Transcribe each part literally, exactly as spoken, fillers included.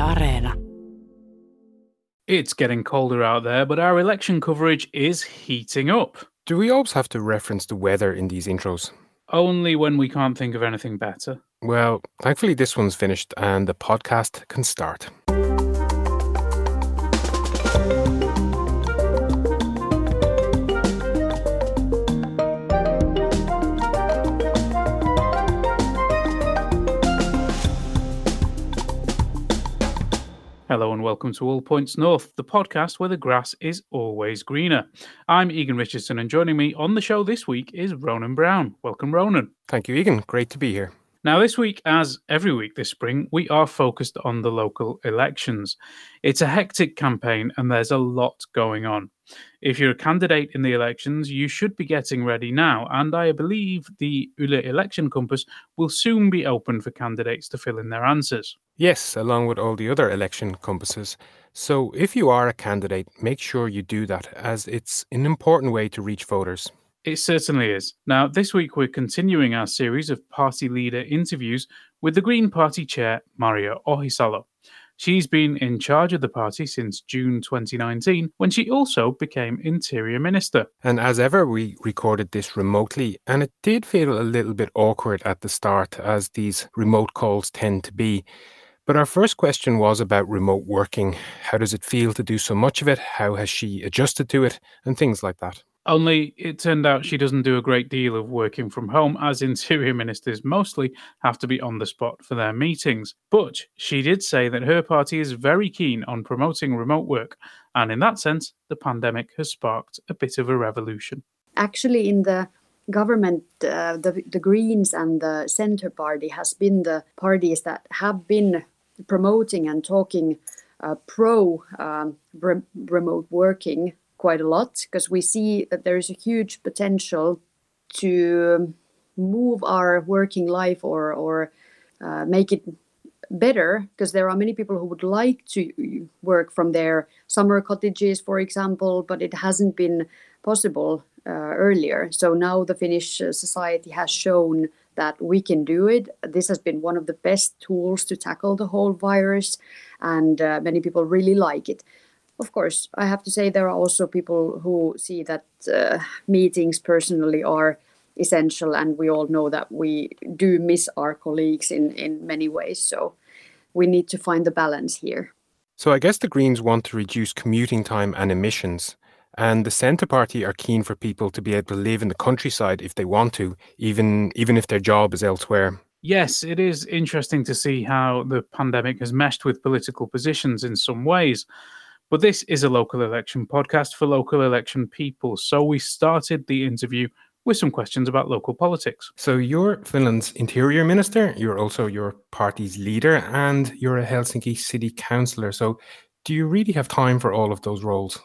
Areena. It's getting colder out there, but our election coverage is heating up. Do we always have to reference the weather in these intros? Only when we can't think of anything better. Well, thankfully this one's finished and the podcast can start. Hello and welcome to All Points North, the podcast where the grass is always greener. I'm Egan Richardson and joining me on the show this week is Ronan Brown. Welcome, Ronan. Thank you, Egan. Great to be here. Now, this week, as every week this spring, we are focused on the local elections. It's a hectic campaign and there's a lot going on. If you're a candidate in the elections, you should be getting ready now, and I believe the Yle Election Compass will soon be open for candidates to fill in their answers. Yes, along with all the other election compasses. So if you are a candidate, make sure you do that, as it's an important way to reach voters. It certainly is. Now, this week we're continuing our series of party leader interviews with the Green Party chair, Maria Ohisalo. She's been in charge of the party since June twenty nineteen, when she also became Interior Minister. And as ever, we recorded this remotely, and it did feel a little bit awkward at the start, as these remote calls tend to be. But our first question was about remote working. How does it feel to do so much of it? How has she adjusted to it? And things like that. Only it turned out she doesn't do a great deal of working from home, as Interior Ministers mostly have to be on the spot for their meetings. But she did say that her party is very keen on promoting remote work, and in that sense, the pandemic has sparked a bit of a revolution. Actually, in the government, uh, the, the Greens and the Centre Party has been the parties that have been promoting and talking uh, pro um, re- remote working quite a lot, because we see that there is a huge potential to move our working life or or uh, make it better, because there are many people who would like to work from their summer cottages, for example, but it hasn't been possible uh, earlier. So now the Finnish society has shown that we can do it. This has been one of the best tools to tackle the whole virus, and uh, many people really like it. Of course, I have to say there are also people who see that uh, meetings personally are essential, and we all know that we do miss our colleagues in, in many ways. So we need to find the balance here. So I guess the Greens want to reduce commuting time and emissions, and the Centre Party are keen for people to be able to live in the countryside if they want to, even, even if their job is elsewhere. Yes, it is interesting to see how the pandemic has meshed with political positions in some ways. But this is a local election podcast for local election people, so we started the interview with some questions about local politics. So you're Finland's Interior Minister, you're also your party's leader, and you're a Helsinki City Councillor. So do you really have time for all of those roles?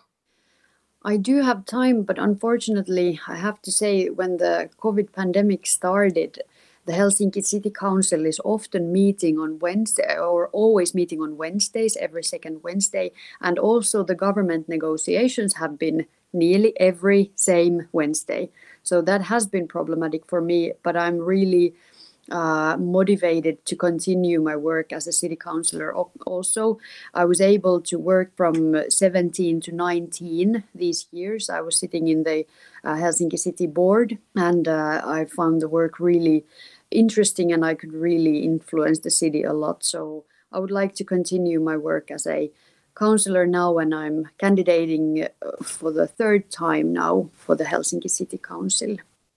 I do have time, but unfortunately, I have to say, when the COVID pandemic started, the Helsinki City Council is often meeting on Wednesday, or always meeting on Wednesdays, every second Wednesday. And also the government negotiations have been nearly every same Wednesday. So that has been problematic for me, but I'm really uh, motivated to continue my work as a city councillor. Also, I was able to work from seventeen to nineteen these years. I was sitting in the uh, Helsinki City Board, and uh, I found the work really interesting, and I could really influence the city a lot. So I would like to continue my work as a councillor now, and I'm candidating for the third time now for the Helsinki City Council.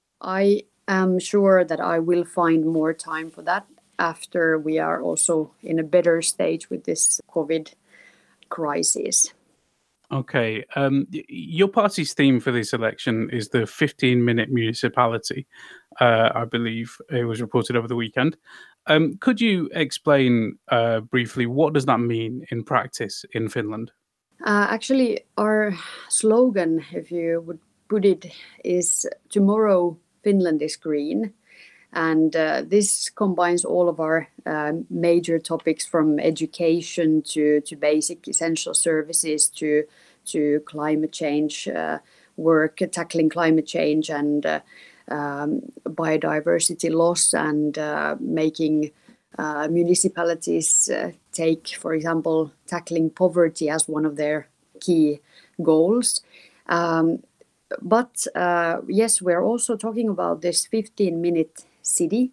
I am sure that I will find more time for that after we are also in a better stage with this COVID crisis. Okay. Um, your party's theme for this election is the fifteen-minute municipality. Uh, I believe it was reported over the weekend. Um, could you explain uh, briefly what does that mean in practice in Finland? Uh, actually, our slogan, if you would put it, is "Tomorrow Finland is Green." And uh, this combines all of our uh, major topics, from education to, to basic essential services to to climate change uh, work, tackling climate change and uh, um, biodiversity loss, and uh, making uh, municipalities uh, take, for example, tackling poverty as one of their key goals. Um, but uh, yes, we're also talking about this fifteen minute city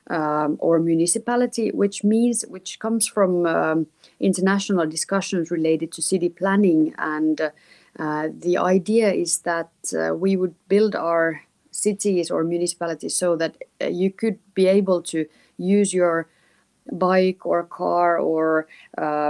um, or municipality, which means, which comes from um, international discussions related to city planning. And uh, the idea is that uh, we would build our cities or municipalities so that uh, you could be able to use your bike or car or uh,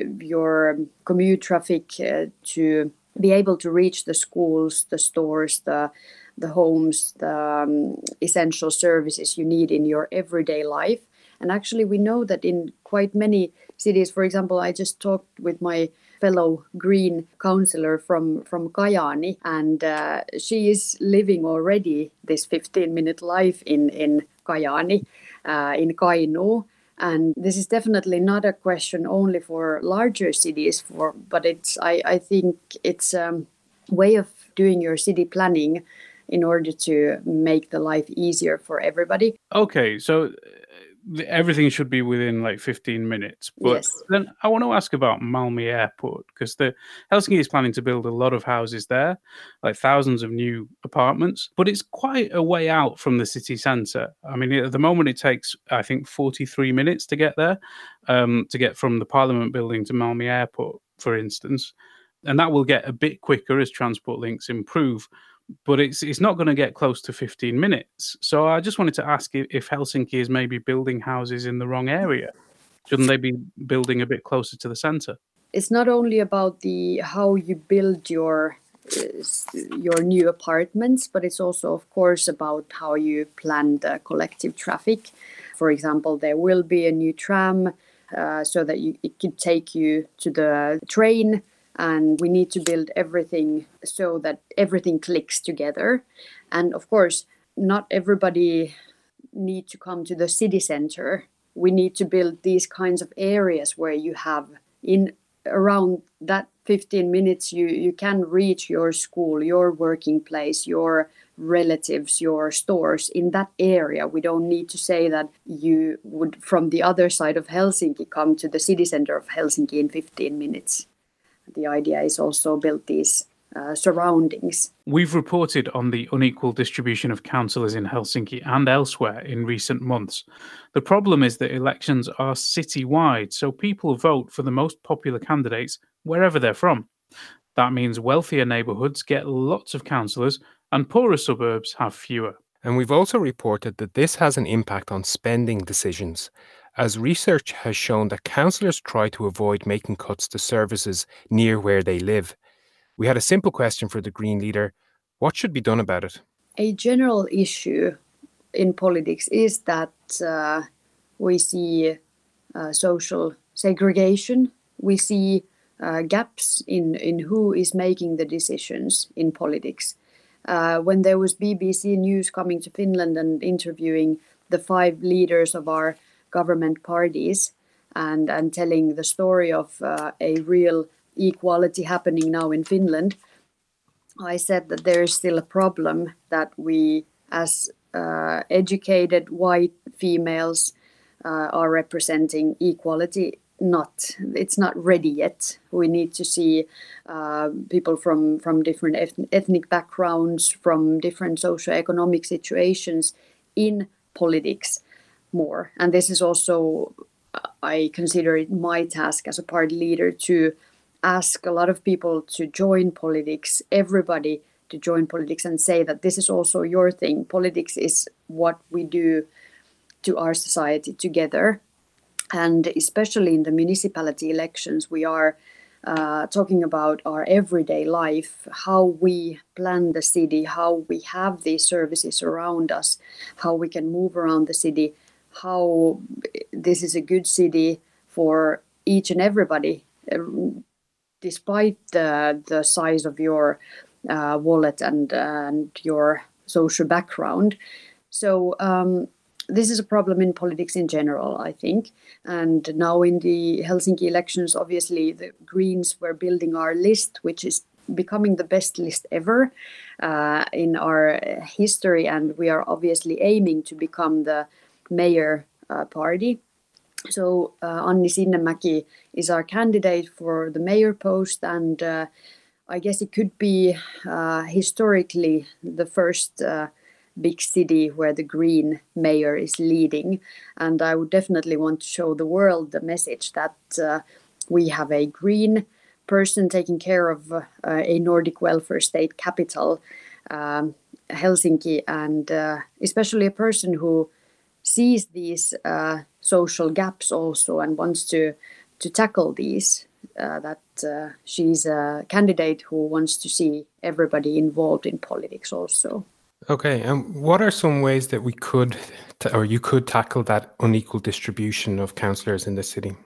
your commute traffic uh, to be able to reach the schools, the stores, the the homes, the um, essential services you need in your everyday life. And actually, we know that in quite many cities, for example, I just talked with my fellow Green councillor from, from Kajaani, and uh, she is living already this fifteen minute life in, in Kajaani, uh, in Kainuu. And this is definitely not a question only for larger cities, for but it's I, I think it's a way of doing your city planning in order to make the life easier for everybody. Okay, so everything should be within like fifteen minutes. But yes. Then I want to ask about Malmi Airport, because the Helsinki is planning to build a lot of houses there, like thousands of new apartments. But it's quite a way out from the city centre. I mean, at the moment it takes, I think, forty-three minutes to get there, um, to get from the Parliament building to Malmi Airport, for instance. And that will get a bit quicker as transport links improve. But it's it's not going to get close to fifteen minutes. So I just wanted to ask if, if Helsinki is maybe building houses in the wrong area. Shouldn't they be building a bit closer to the centre? It's not only about the how you build your uh, your new apartments, but it's also, of course, about how you plan the collective traffic. For example, there will be a new tram uh, so that you, it could take you to the train. And we need to build everything so that everything clicks together. And of course, not everybody need to come to the city center. We need to build these kinds of areas where you have in around that fifteen minutes, you, you can reach your school, your working place, your relatives, your stores in that area. We don't need to say that you would, from the other side of Helsinki, come to the city center of Helsinki in fifteen minutes. The idea is also build these uh, surroundings. We've reported on the unequal distribution of councillors in Helsinki and elsewhere in recent months. The problem is that elections are city-wide, so people vote for the most popular candidates wherever they're from. That means wealthier neighbourhoods get lots of councillors and poorer suburbs have fewer. And we've also reported that this has an impact on spending decisions, as research has shown that councillors try to avoid making cuts to services near where they live. We had a simple question for the Green leader. What should be done about it? A general issue in politics is that uh, we see uh, social segregation. We see uh, gaps in, in who is making the decisions in politics. Uh, when there was B B C News coming to Finland and interviewing the five leaders of our government parties and, and telling the story of uh, a real equality happening now in Finland, I said that there is still a problem that we, as uh, educated white females, uh, are representing equality. Not, it's not ready yet. We need to see uh, people from from different eth- ethnic backgrounds, from different socioeconomic situations in politics more. And this is also, I consider it my task as a party leader to ask a lot of people to join politics, everybody to join politics, and say that this is also your thing. Politics is what we do to our society together. And especially in the municipality elections, we are uh, talking about our everyday life, how we plan the city, how we have these services around us, how we can move around the city, how this is a good city for each and everybody, despite the, the size of your uh, wallet and, and your social background. So um, this is a problem in politics in general, I think. And now in the Helsinki elections, obviously the Greens were building our list, which is becoming the best list ever uh, in our history. And we are obviously aiming to become the mayor uh, party. So uh, Anni Sinnemäki is our candidate for the mayor post, and uh, I guess it could be uh, historically the first uh, big city where the Green mayor is leading. And I would definitely want to show the world the message that uh, we have a Green person taking care of uh, a Nordic welfare state capital, um, Helsinki, and uh, especially a person who sees these uh, social gaps also and wants to to tackle these. Uh, that uh, she's a candidate who wants to see everybody involved in politics also. Okay, and what are some ways that we could, ta- or you could tackle that unequal distribution of councillors in the city?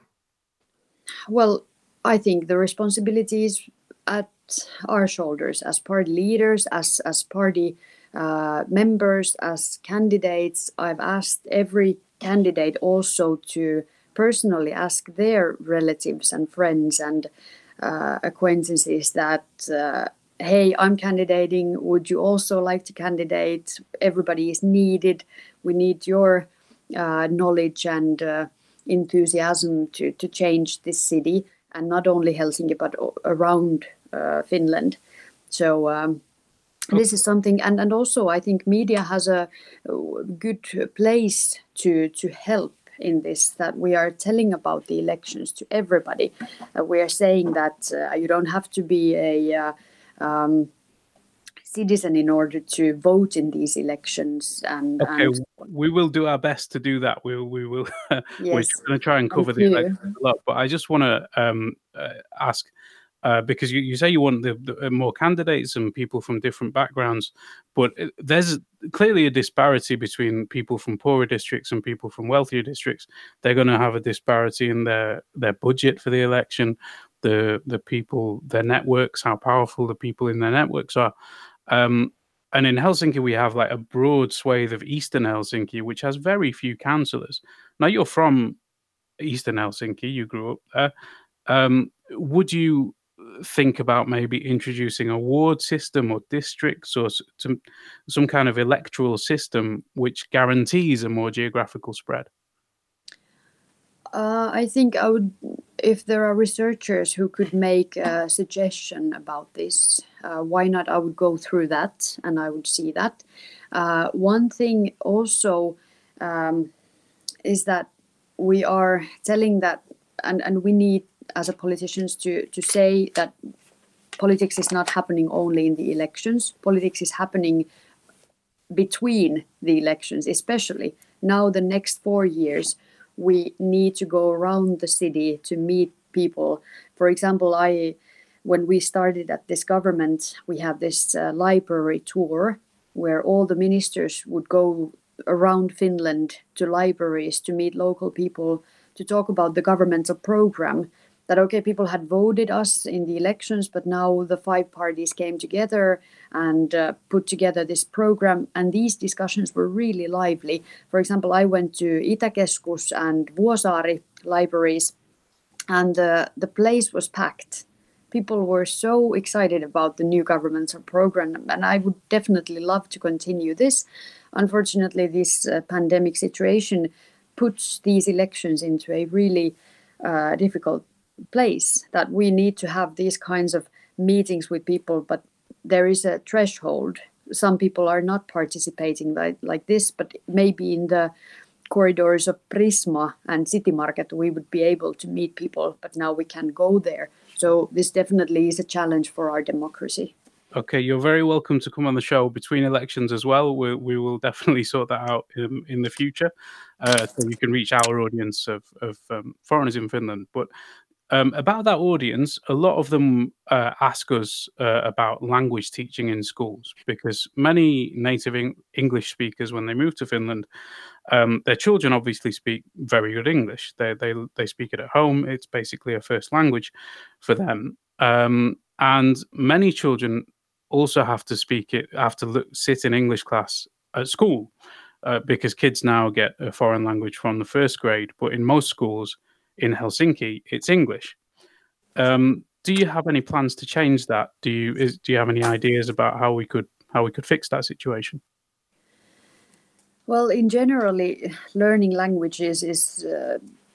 Well, I think the responsibility is at our shoulders as party leaders, as as party uh, members, as candidates. I've asked every candidate also to personally ask their relatives and friends and uh, acquaintances that, uh, hey, I'm candidating. Would you also like to candidate? Everybody is needed. We need your uh, knowledge and uh, enthusiasm to, to change this city, and not only Helsinki, but around uh, Finland. So um, this is something, and, and also I think media has a good place to to help in this, that we are telling about the elections to everybody. Uh, we are saying that uh, you don't have to be a uh, um, citizen in order to vote in these elections. And okay, and we will do our best to do that. We will, we will. We're yes, going to try and cover thank the you. elections a lot, but I just want to um, uh, ask. Uh, because you, you say you want the, the more candidates and people from different backgrounds, but there's clearly a disparity between people from poorer districts and people from wealthier districts. They're going to have a disparity in their, their budget for the election, the the people, their networks, how powerful the people in their networks are. Um, and in Helsinki, we have like a broad swathe of Eastern Helsinki, which has very few councillors. Now, you're from Eastern Helsinki, you grew up there. Um, would you think about maybe introducing a ward system or districts or some some kind of electoral system which guarantees a more geographical spread? Uh, I think I would, if there are researchers who could make a suggestion about this, uh, why not? I would go through that and I would see that. Uh, one thing also um, is that we are telling that, and, and we need as a politicians to, to say that politics is not happening only in the elections. Politics is happening between the elections, especially now the next four years. We need to go around the city to meet people. For example, I, when we started at this government, we have this uh, library tour where all the ministers would go around Finland to libraries to meet local people to talk about the governmental program. That, okay, people had voted us in the elections, but now the five parties came together and uh, put together this program. And these discussions were really lively. For example, I went to Itäkeskus and Vuosaari libraries, and the, the place was packed. People were so excited about the new governmental program, and I would definitely love to continue this. Unfortunately, this uh, pandemic situation puts these elections into a really uh, difficult place, that we need to have these kinds of meetings with people, but there is a threshold. Some people are not participating like, like this, but maybe in the corridors of Prisma and City Market we would be able to meet people, but now we can't go there. So this definitely is a challenge for our democracy. Okay, you're very welcome to come on the show between elections as well. We, we will definitely sort that out in, in the future, uh, so you can reach our audience of, of um, foreigners in Finland. But Um, about that audience, a lot of them uh, ask us uh, about language teaching in schools, because many native English speakers, when they move to Finland, um, their children obviously speak very good English. They they they speak it at home. It's basically a first language for them. Um, and many children also have to speak it, have to look, sit in English class at school, uh, because kids now get a foreign language from the first grade. But in most schools in Helsinki, it's English. Um, do you have any plans to change that? Do you is, do you have any ideas about how we could how we could fix that situation? Well, in generally, learning languages is uh,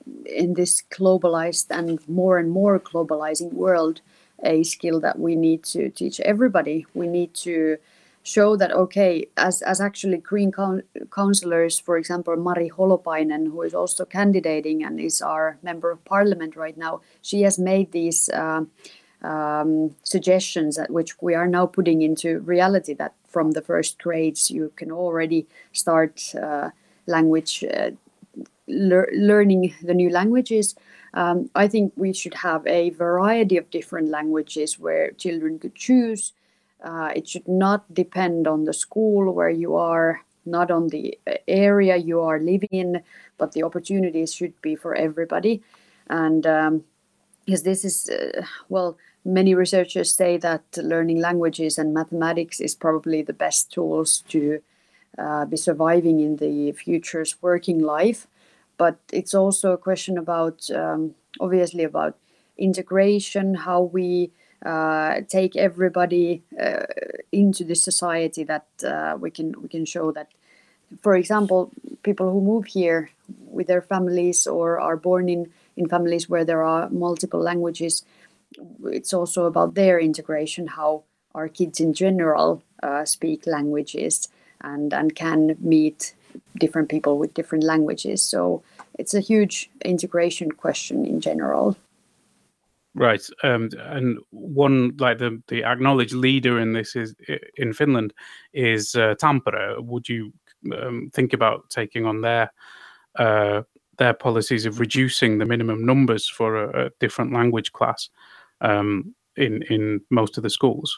in this globalized and more and more globalizing world, a skill that we need to teach everybody. We need to show that, okay, as, as actually Green councillors, for example, Mari Holopainen, who is also candidating and is our member of parliament right now, she has made these uh, um, suggestions that which we are now putting into reality, that from the first grades you can already start uh, language uh, le- learning the new languages. Um, I think we should have a variety of different languages where children could choose. Uh, it should not depend on the school where you are, not on the area you are living in, but the opportunities should be for everybody. And um, because this is, uh, well, many researchers say that learning languages and mathematics is probably the best tools to uh, be surviving in the future's working life. But it's also a question about, um, obviously, about integration, how we uh, take everybody uh, into the society, that uh, we can we can show that, for example, people who move here with their families or are born in, in families where there are multiple languages, it's also about their integration, how our kids in general uh, speak languages and, and can meet different people with different languages. So it's a huge integration question in general. Right, um, and one, like the the acknowledged leader in this is in Finland is uh, Tampere. Would you um, think about taking on their uh, their policies of reducing the minimum numbers for a, a different language class um, in in most of the schools?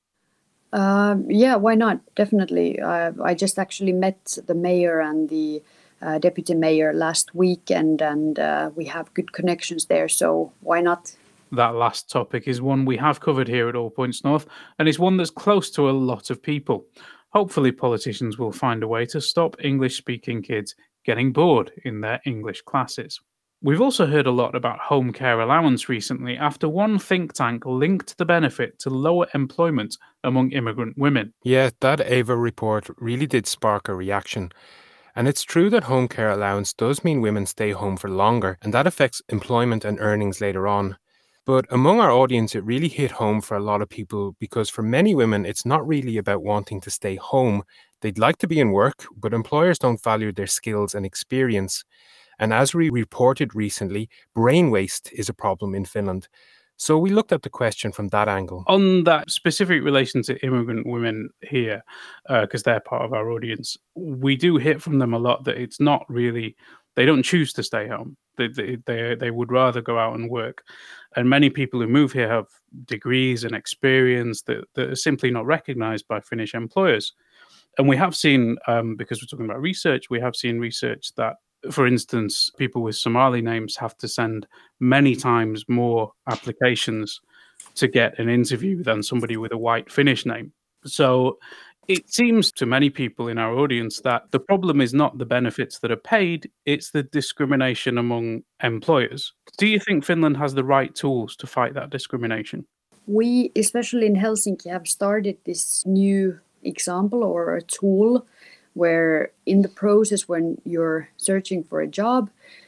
Um, yeah, why not? Definitely. Uh, I just actually met the mayor and the uh, deputy mayor last weekend, and uh, we have good connections there. So why not? That last topic is one we have covered here at All Points North, and it's one that's close to a lot of people. Hopefully, politicians will find a way to stop English-speaking kids getting bored in their English classes. We've also heard a lot about home care allowance recently after one think tank linked the benefit to lower employment among immigrant women. Yeah, that Ava report really did spark a reaction. And it's true that home care allowance does mean women stay home for longer, and that affects employment and earnings later on. But among our audience, it really hit home for a lot of people because for many women, it's not really about wanting to stay home. They'd like to be in work, but employers don't value their skills and experience. And as we reported recently, brain waste is a problem in Finland. So we looked at the question from that angle. On that specific relation to immigrant women here, because uh, they're part of our audience, we do hear from them a lot that it's not really, they don't choose to stay home. They, they, they, they would rather go out and work. And many people who move here have degrees and experience that, that are simply not recognized by Finnish employers. And we have seen, um, because we're talking about research, we have seen research that, for instance, people with Somali names have to send many times more applications to get an interview than somebody with a white Finnish name. So it seems to many people in our audience that the problem is not the benefits that are paid, it's the discrimination among employers. Do you think Finland has the right tools to fight that discrimination? We, especially in Helsinki, have started this new example or a tool where in the process when you're searching for a job,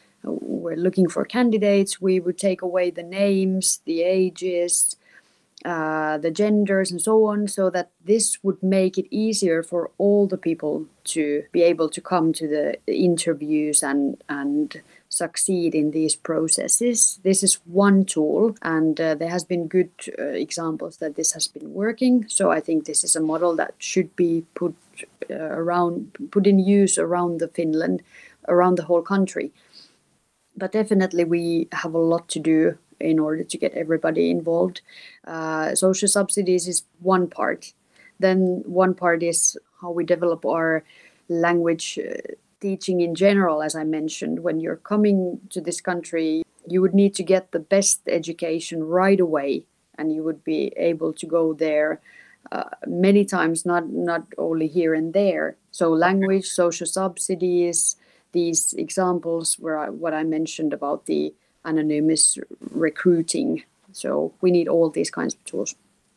we're looking for candidates, we would take away the names, the ages, uh, the genders and so on, so that this would make it easier for all the people to be able to come to the interviews and and succeed in these processes. This is one tool, and uh, there has been good uh, examples that this has been working. So I think this is a model that should be put uh, around, put in use around the Finland, around the whole country. But definitely we have a lot to do in order to get everybody involved. Uh, social subsidies is one part. Then one part is how we develop our language uh, teaching in general, as I mentioned. When you're coming to this country, you would need to get the best education right away, and you would be able to go there uh, many times, not, not only here and there. So language, social subsidies, these examples where I, what I mentioned about the anonymous recruiting. So we need all these kinds of tools.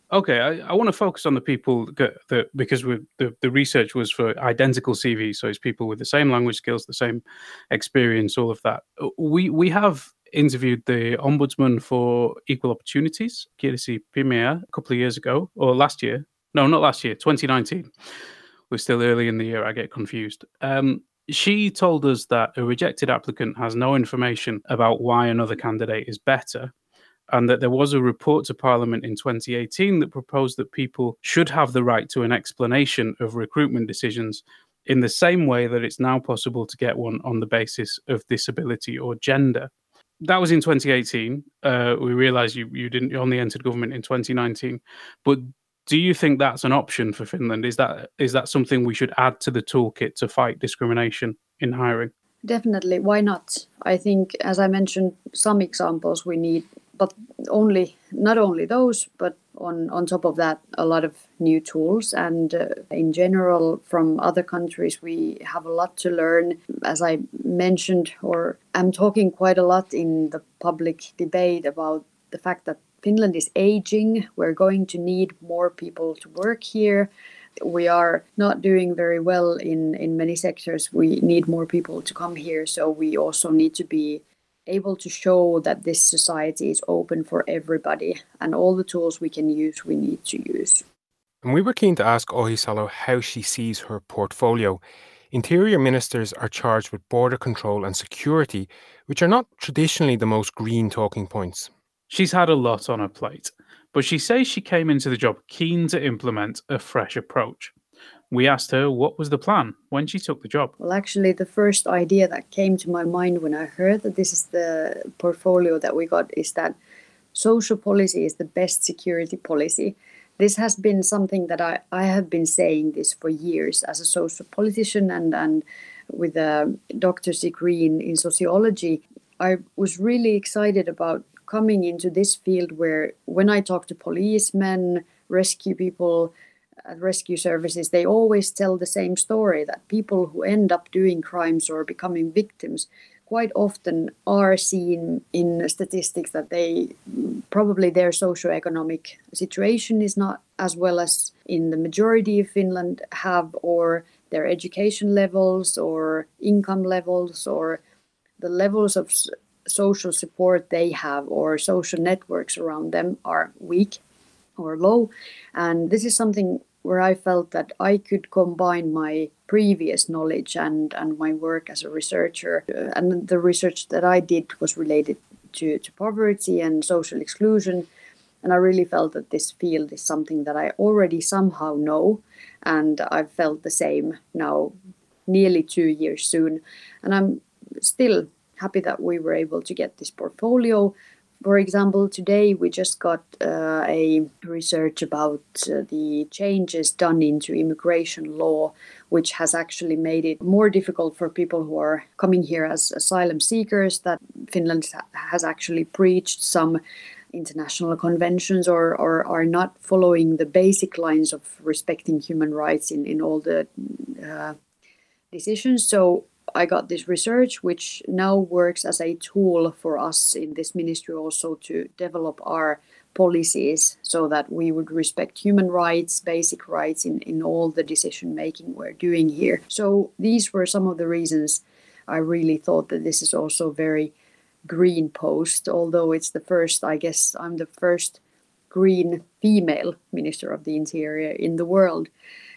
Okay, I, I want to focus on the people that, that because we, the, the research was for identical C Vs, so it's people with the same language skills, the same experience, all of that. We we have interviewed the Ombudsman for Equal Opportunities, Kirsi Pimea, a couple of years ago, or last year. No, not last year, twenty nineteen. We're still early in the year, I get confused. Um, she told us that a rejected applicant has no information about why another candidate is better, and that there was a report to Parliament in twenty eighteen that proposed that people should have the right to an explanation of recruitment decisions in the same way that it's now possible to get one on the basis of disability or gender. That was in twenty eighteen. Uh, we realise you, you didn't you only entered government in twenty nineteen, but do you think that's an option for Finland? Is that is that something we should add to the toolkit to fight discrimination in hiring? Definitely, why not? I think, as I mentioned, some examples we need, but only not only those, but on, on top of that, a lot of new tools. And uh, in general, from other countries, we have a lot to learn. As I mentioned, or I'm talking quite a lot in the public debate about the fact that Finland is aging. We're going to need more people to work here. We are not doing very well in, in many sectors. We need more people to come here. So we also need to be able to show that this society is open for everybody, and all the tools we can use, we need to use. And we were keen to ask Ohisalo how she sees her portfolio. Interior ministers are charged with border control and security, which are not traditionally the most green talking points. She's had a lot on her plate, but she says she came into the job keen to implement a fresh approach. We asked her what was the plan when she took the job. Well, actually, the first idea that came to my mind when I heard that this is the portfolio that we got is that social policy is the best security policy. This has been something that I, I have been saying this for years as a social politician and, and with a doctor's degree in, in sociology. I was really excited about coming into this field where when I talk to policemen, rescue people, at rescue services, they always tell the same story, that people who end up doing crimes or becoming victims quite often are seen in statistics that they probably their socioeconomic situation is not as well as in the majority of Finland have, or their education levels or income levels or the levels of social support they have or social networks around them are weak or low. And this is something where I felt that I could combine my previous knowledge and, and my work as a researcher. Uh, and the research that I did was related to, to poverty and social exclusion. And I really felt that this field is something that I already somehow know. And I've felt the same now, nearly two years soon. And I'm still happy that we were able to get this portfolio. For example, today we just got uh, a research about uh, the changes done into immigration law, which has actually made it more difficult for people who are coming here as asylum seekers, that Finland has actually breached some international conventions or, or are not following the basic lines of respecting human rights in, in all the uh, decisions. So I got this research, which now works as a tool for us in this ministry also to develop our policies so that we would respect human rights, basic rights in, in all the decision making we're doing here. So these were some of the reasons I really thought that this is also very green post, although it's the first, I guess I'm the first green female Minister of the Interior in the world.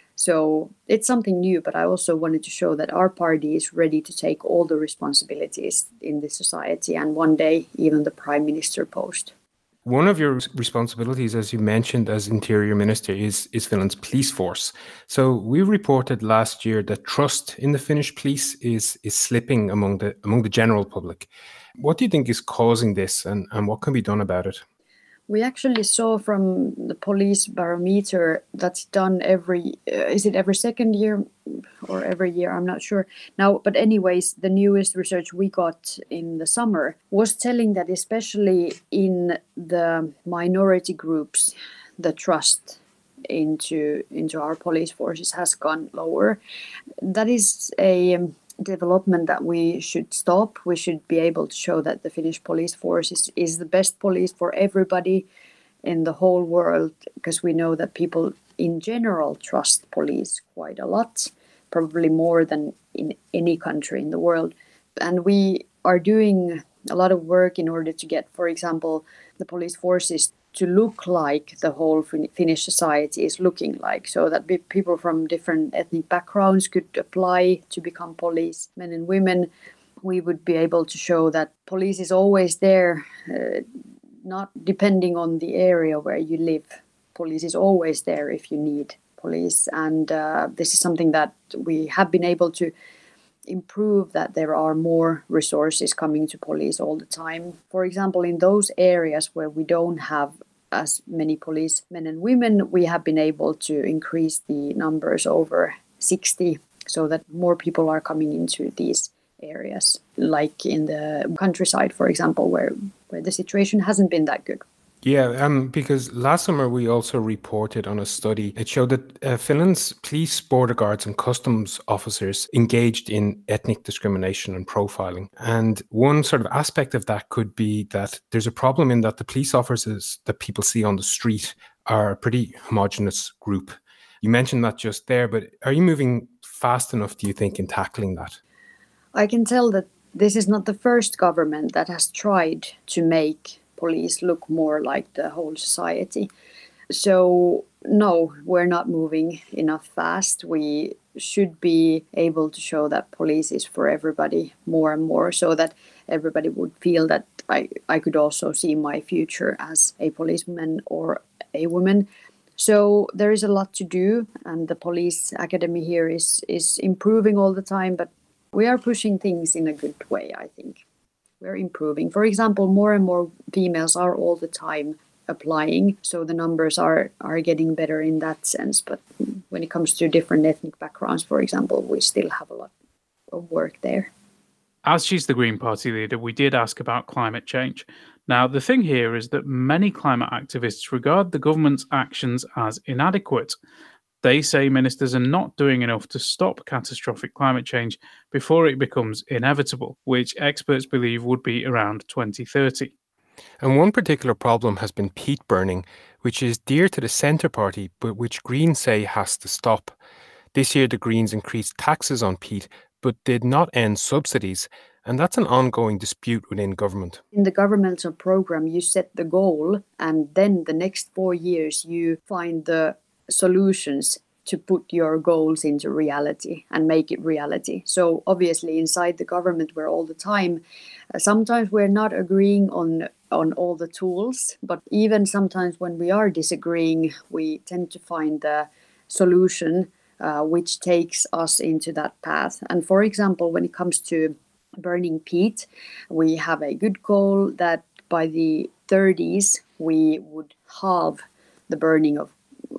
So it's something new, but I also wanted to show that our party is ready to take all the responsibilities in this society and one day even the prime minister post. One of your responsibilities, as you mentioned, as Interior Minister is, is Finland's police force. So we reported last year that trust in the Finnish police is, is slipping among the among the general public. What do you think is causing this and, and what can be done about it? We actually saw from the police barometer that's done every, uh, is it every second year or every year? I'm not sure now. But anyways, the newest research we got in the summer was telling that especially in the minority groups, the trust into into our police forces has gone lower. That is a um, development that we should stop. We should be able to show that the Finnish police force is, is the best police for everybody, in the whole world, because we know that people in general trust police quite a lot, probably more than in any country in the world. And we are doing a lot of work in order to get, for example, the police forces to look like the whole Finnish society is looking like, so that people from different ethnic backgrounds could apply to become police, men and women. We would be able to show that police is always there, uh, not depending on the area where you live. Police is always there if you need police. And uh, this is something that we have been able to improve, that there are more resources coming to police all the time. For example, in those areas where we don't have as many police men and women, we have been able to increase the numbers over sixty, so that more people are coming into these areas, like in the countryside, for example, where, where the situation hasn't been that good. Yeah, um, because last summer we also reported on a study. It showed that uh, Finland's police, border guards and customs officers engaged in ethnic discrimination and profiling. And one sort of aspect of that could be that there's a problem in that the police officers that people see on the street are a pretty homogenous group. You mentioned that just there, but are you moving fast enough, do you think, in tackling that? I can tell that this is not the first government that has tried to make police look more like the whole society. So no, we're not moving enough fast. We should be able to show that police is for everybody more and more, so that everybody would feel that I, I could also see my future as a policeman or a woman. So there is a lot to do, and the police academy here is, is improving all the time, but we are pushing things in a good way, I think. We're improving. For example, more and more females are all the time applying, so the numbers are, are getting better in that sense. But when it comes to different ethnic backgrounds, for example, we still have a lot of work there. As she's the Green Party leader, we did ask about climate change. Now, the thing here is that many climate activists regard the government's actions as inadequate. They say ministers are not doing enough to stop catastrophic climate change before it becomes inevitable, which experts believe would be around twenty thirty. And one particular problem has been peat burning, which is dear to the Centre Party, but which Greens say has to stop. This year, the Greens increased taxes on peat, but did not end subsidies. And that's an ongoing dispute within government. In the governmental program, you set the goal, and then the next four years, you find the solutions to put your goals into reality and make it reality. So obviously inside the government we're all the time, uh, sometimes we're not agreeing on on all the tools, but even sometimes when we are disagreeing, we tend to find the solution uh, which takes us into that path. And for example, when it comes to burning peat, we have a good goal that by the thirties we would halve the burning of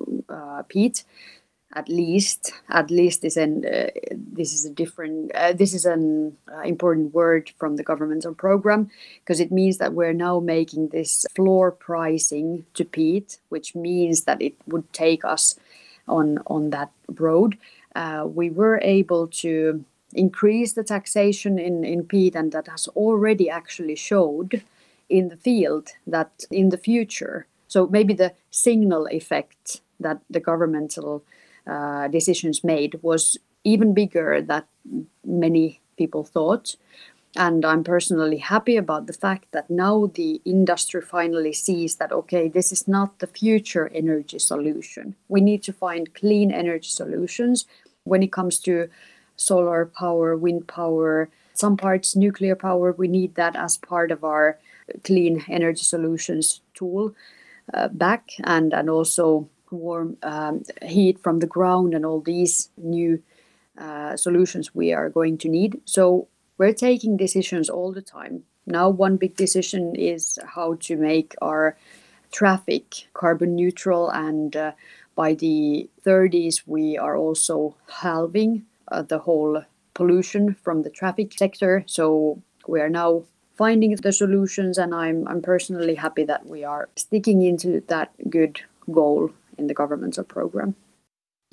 Uh, peat, at least. At least is an uh, this is a different. Uh, this is an uh, important word from the governmental program, because it means that we're now making this floor pricing to peat, which means that it would take us on on that road. Uh, we were able to increase the taxation in in peat, and that has already actually showed in the field that in the future. So maybe the signal effect that the governmental uh, decisions made was even bigger than many people thought. And I'm personally happy about the fact that now the industry finally sees that, okay, this is not the future energy solution. We need to find clean energy solutions when it comes to solar power, wind power, some parts nuclear power. We need that as part of our clean energy solutions tool uh, back, and, and also warm um, heat from the ground and all these new uh, solutions we are going to need. So we're taking decisions all the time. Now one big decision is how to make our traffic carbon neutral, and uh, by the thirties we are also halving uh, the whole pollution from the traffic sector. So we are now finding the solutions, and I'm, I'm personally happy that we are sticking into that good goal in the governmental program.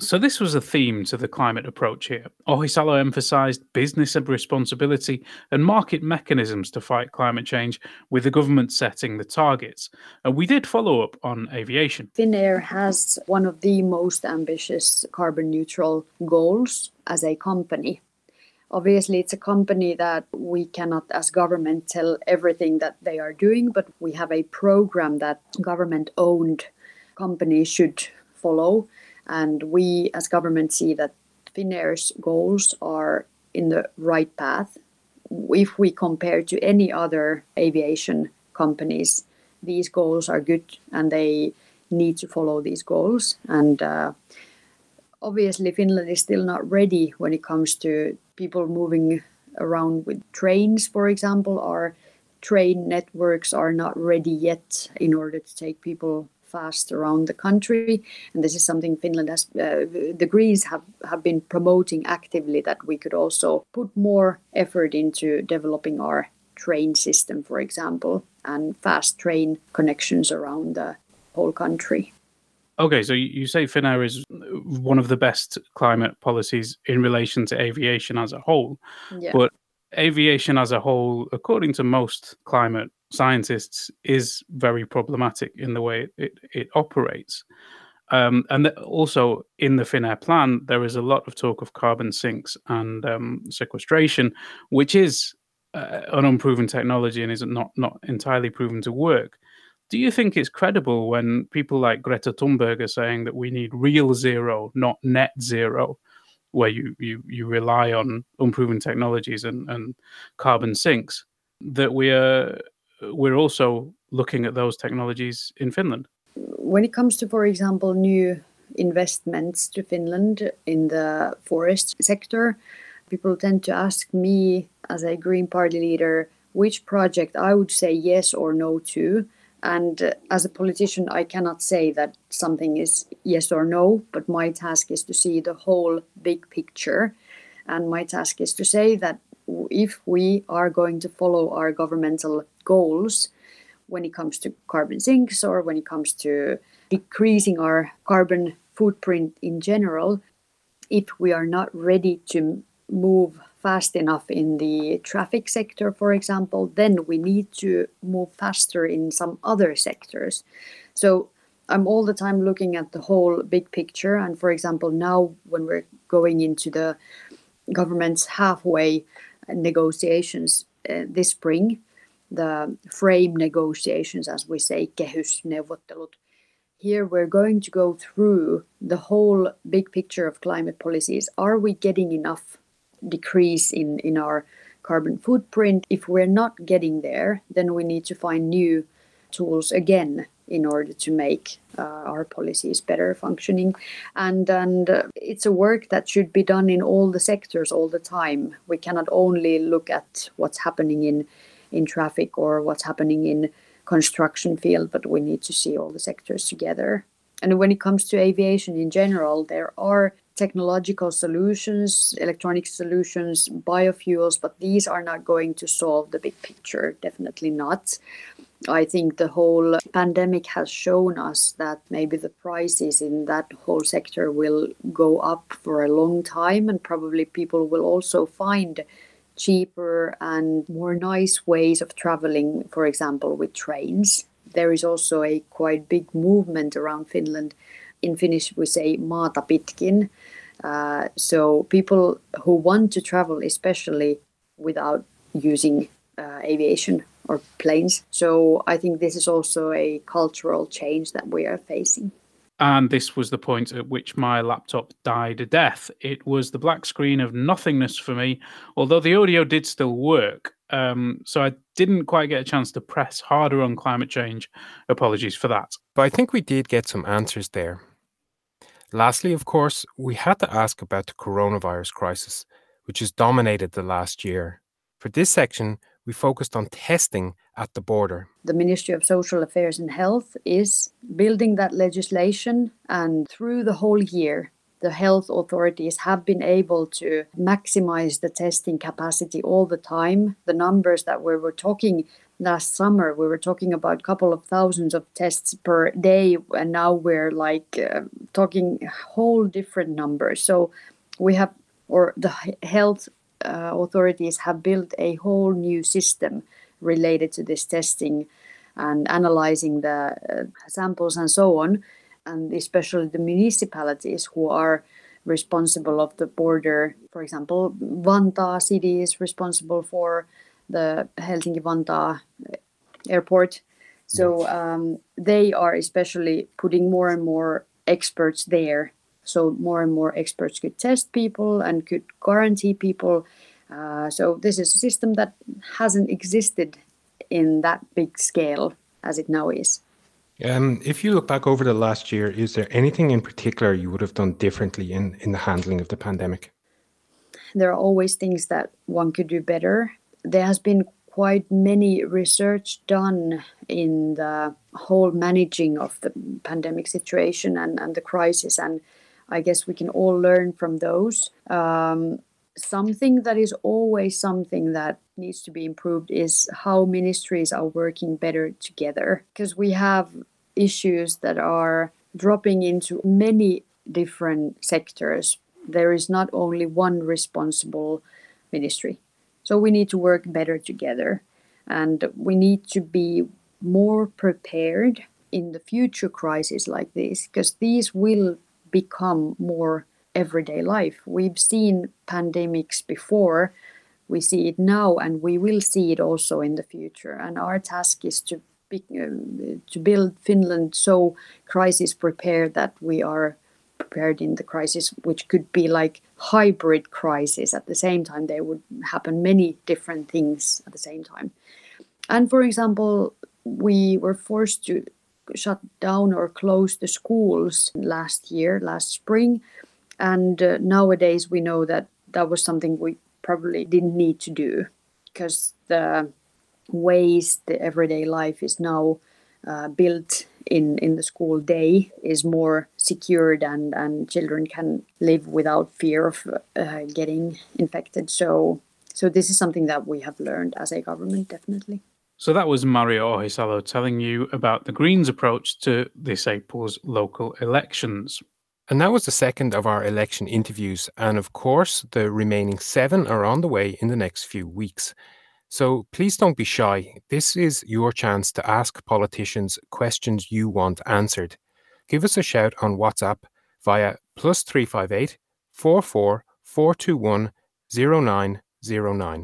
So this was a theme to the climate approach here. Ohisalo emphasised business responsibility and market mechanisms to fight climate change, with the government setting the targets. And we did follow up on aviation. Finnair has one of the most ambitious carbon neutral goals as a company. Obviously, it's a company that we cannot, as government, tell everything that they are doing, but we have a program that government-owned companies should follow. And we, as government, see that Finnair's goals are in the right path. If we compare to any other aviation companies, these goals are good and they need to follow these goals. And uh, obviously, Finland is still not ready when it comes to people moving around with trains, for example. Our train networks are not ready yet in order to take people fast around the country, and this is something Finland has, uh, the Greens have, have been promoting actively, that we could also put more effort into developing our train system, for example, and fast train connections around the whole country. Okay, so you say Finnair is one of the best climate policies in relation to aviation as a whole, Yeah. but aviation as a whole, according to most climate scientists, is very problematic in the way it, it operates. Um, and th- also in the Finnair plan, there is a lot of talk of carbon sinks and um, sequestration, which is uh, an unproven technology and is not, not entirely proven to work. Do you think it's credible when people like Greta Thunberg are saying that we need real zero, not net zero, where you, you, you rely on unproven technologies and, and carbon sinks, that we are we're also looking at those technologies in Finland? When it comes to, for example, new investments to Finland in the forest sector, people tend to ask me as a Green Party leader which project I would say yes or no to. And uh, as a politician, I cannot say that something is yes or no, but my task is to see the whole big picture. And my task is to say that if we are going to follow our governmental goals when it comes to carbon sinks or when it comes to decreasing our carbon footprint in general, if we are not ready to move fast enough in the traffic sector, for example, then we need to move faster in some other sectors. So I'm all the time looking at the whole big picture. And for example, now when we're going into the government's halfway negotiations uh, this spring, the frame negotiations, as we say, kehysneuvottelut, here we're going to go through the whole big picture of climate policies. Are we getting enough decrease in, in our carbon footprint? If we're not getting there, then we need to find new tools again in order to make uh, our policies better functioning. And, and uh, it's a work that should be done in all the sectors all the time. We cannot only look at what's happening in, in traffic or what's happening in construction field, but we need to see all the sectors together. And when it comes to aviation in general, there are technological solutions, electronic solutions, biofuels, but these are not going to solve the big picture, definitely not. I think the whole pandemic has shown us that maybe the prices in that whole sector will go up for a long time, and probably people will also find cheaper and more nice ways of traveling, for example, with trains. There is also a quite big movement around Finland. In Finnish, we say maata pitkin. Uh, so people who want to travel, especially without using uh, aviation or planes. So I think this is also a cultural change that we are facing. And this was the point at which my laptop died a death. It was the black screen of nothingness for me, although the audio did still work. Um, so I didn't quite get a chance to press harder on climate change. Apologies for that. But I think we did get some answers there. Lastly, of course, we had to ask about the coronavirus crisis, which has dominated the last year. For this section, we focused on testing at the border. The Ministry of Social Affairs and Health is building that legislation, and through the whole year, the health authorities have been able to maximize the testing capacity all the time. The numbers that we were talking last summer we were talking about a couple of thousands of tests per day, and now we're like uh, talking whole different numbers. So we have, or the health uh, authorities have built a whole new system related to this testing and analyzing the uh, samples and so on, and especially the municipalities who are responsible of the border. For example, Vantaa city is responsible for the Helsinki-Vantaa airport. So um, they are especially putting more and more experts there. So more and more experts could test people and could guarantee people. Uh, so this is a system that hasn't existed in that big scale as it now is. Um, if you look back over the last year, is there anything in particular you would have done differently in, in the handling of the pandemic? There are always things that one could do better. There has been quite many research done in the whole managing of the pandemic situation and, and the crisis, and I guess we can all learn from those. Um, something that is always something that needs to be improved is how ministries are working better together, because we have issues that are dropping into many different sectors. There is not only one responsible ministry. So we need to work better together, and we need to be more prepared in the future crises like this, because these will become more everyday life. We've seen pandemics before, we see it now, and we will see it also in the future. And our task is to be, uh, to build Finland so crisis prepared that we are prepared in the crisis, which could be like hybrid crisis. At the same time, there would happen many different things at the same time. And for example, we were forced to shut down or close the schools last year, last spring. And uh, nowadays we know that that was something we probably didn't need to do, because the ways the everyday life is now uh, built in, in the school day is more secured, and, and children can live without fear of uh, getting infected. So, so this is something that we have learned as a government, definitely. So that was Mario Ohisalo telling you about the Greens' approach to this April's local elections. And that was the second of our election interviews. And of course, the remaining seven are on the way in the next few weeks. So please don't be shy. This is your chance to ask politicians questions you want answered. Give us a shout on WhatsApp via plus three five eight, four four, four two one, zero nine zero nine.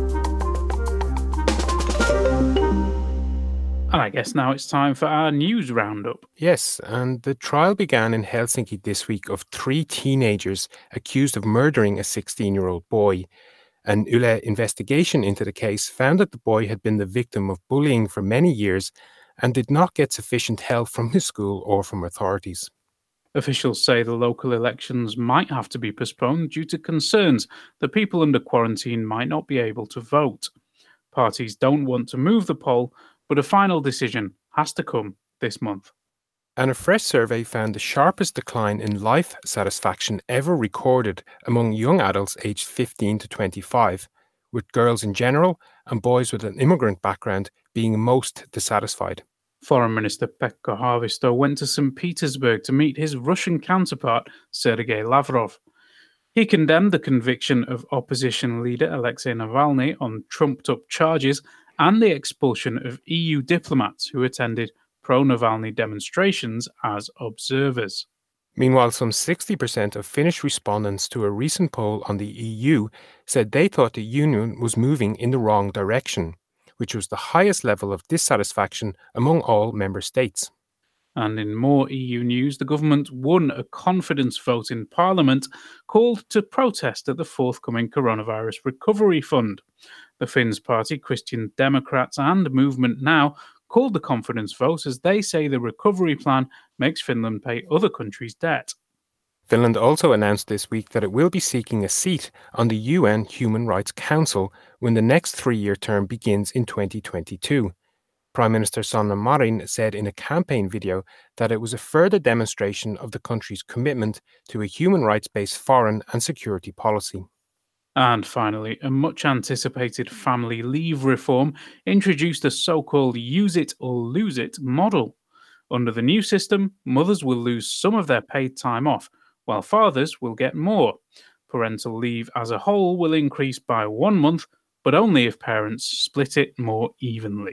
And I guess now it's time for our news roundup. Yes, and the trial began in Helsinki this week of three teenagers accused of murdering a sixteen-year-old boy. An Yle investigation into the case found that the boy had been the victim of bullying for many years and did not get sufficient help from his school or from authorities. Officials say the local elections might have to be postponed due to concerns that people under quarantine might not be able to vote. Parties don't want to move the poll, but a final decision has to come this month. And a fresh survey found the sharpest decline in life satisfaction ever recorded among young adults aged fifteen to twenty-five, with girls in general and boys with an immigrant background being most dissatisfied. Foreign Minister Pekka Haavisto went to Saint Petersburg to meet his Russian counterpart, Sergei Lavrov. He condemned the conviction of opposition leader Alexei Navalny on trumped-up charges and the expulsion of E U diplomats who attended pro-Navalny demonstrations as observers. Meanwhile, some sixty percent of Finnish respondents to a recent poll on the E U said they thought the union was moving in the wrong direction, which was the highest level of dissatisfaction among all member states. And in more E U news, the government won a confidence vote in Parliament called to protest at the forthcoming coronavirus recovery fund. The Finns party, Christian Democrats and Movement Now called the confidence vote as they say the recovery plan makes Finland pay other countries' debt. Finland also announced this week that it will be seeking a seat on the U N Human Rights Council when the next three-year term begins in twenty twenty-two. Prime Minister Sanna Marin said in a campaign video that it was a further demonstration of the country's commitment to a human rights-based foreign and security policy. And finally, a much anticipated family leave reform introduced a so-called use it or lose it model. Under the new system, mothers will lose some of their paid time off, while fathers will get more. Parental leave as a whole will increase by one month, but only if parents split it more evenly.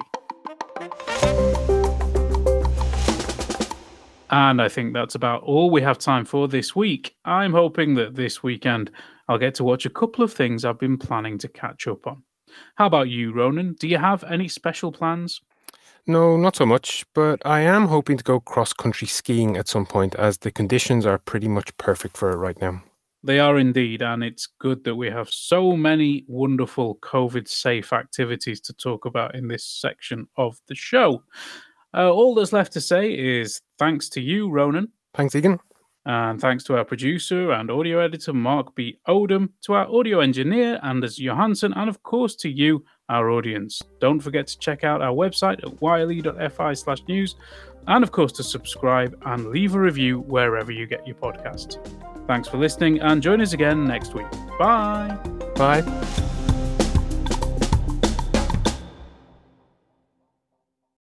And I think that's about all we have time for this week. I'm hoping that this weekend I'll get to watch a couple of things I've been planning to catch up on. How about you, Ronan? Do you have any special plans? No, not so much, but I am hoping to go cross-country skiing at some point as the conditions are pretty much perfect for it right now. They are indeed, and it's good that we have so many wonderful COVID-safe activities to talk about in this section of the show. Uh, all that's left to say is thanks to you, Ronan. Thanks, Egan. And thanks to our producer and audio editor, Mark B. Odom, to our audio engineer, Anders Johansson, and of course to you, our audience. Don't forget to check out our website at yle.fi slash news, and of course to subscribe and leave a review wherever you get your podcasts. Thanks for listening, and join us again next week. Bye. Bye.